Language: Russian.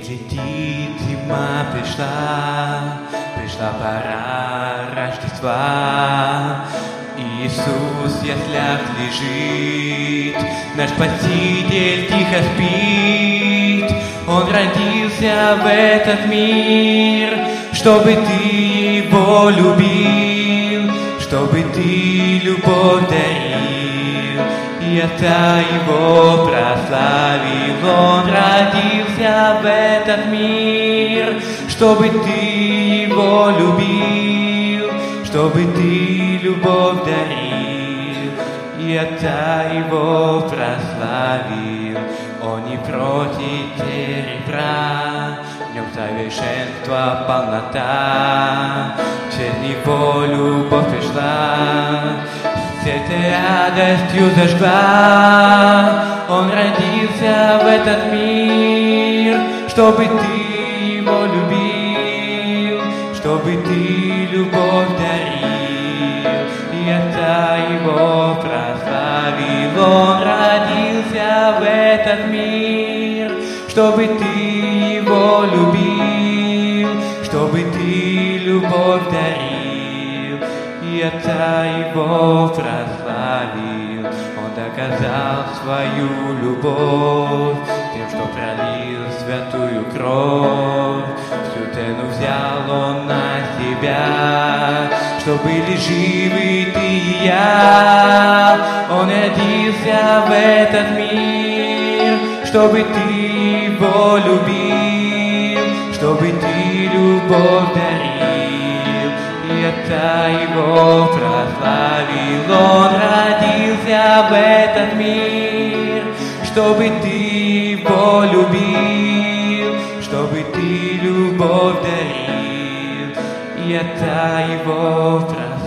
летит, зима пришла пора Рождества. Иисус в яслях лежит, наш Спаситель тихо спит. Он родился в этот мир, чтобы ты его любил, чтобы ты любовь дарил, и это его прославил. Он родился в этот мир, чтобы ты его любил, чтобы ты любовь дарил, и это его прославил. Он не против серебра, в нем совершенство, полнота, через него любовь пришла, сердце радостью зажгла. Он родился в этот мир, чтобы ты его любил, чтобы ты любовь дарил, и это его прославил. Он родился в этот мир, чтобы ты его любил, чтобы ты любовь дарил, и это его прославил. Он доказал свою любовь тем, что пролил святую кровь. Всю цену взял он на себя, что были живы ты и я. Он родился в этот мир, чтобы ты его любил, чтобы ты любовь дарил, и это его прославил. Он родился в этот мир, чтобы ты его любил, чтобы ты любовь дарил, и это его прославил.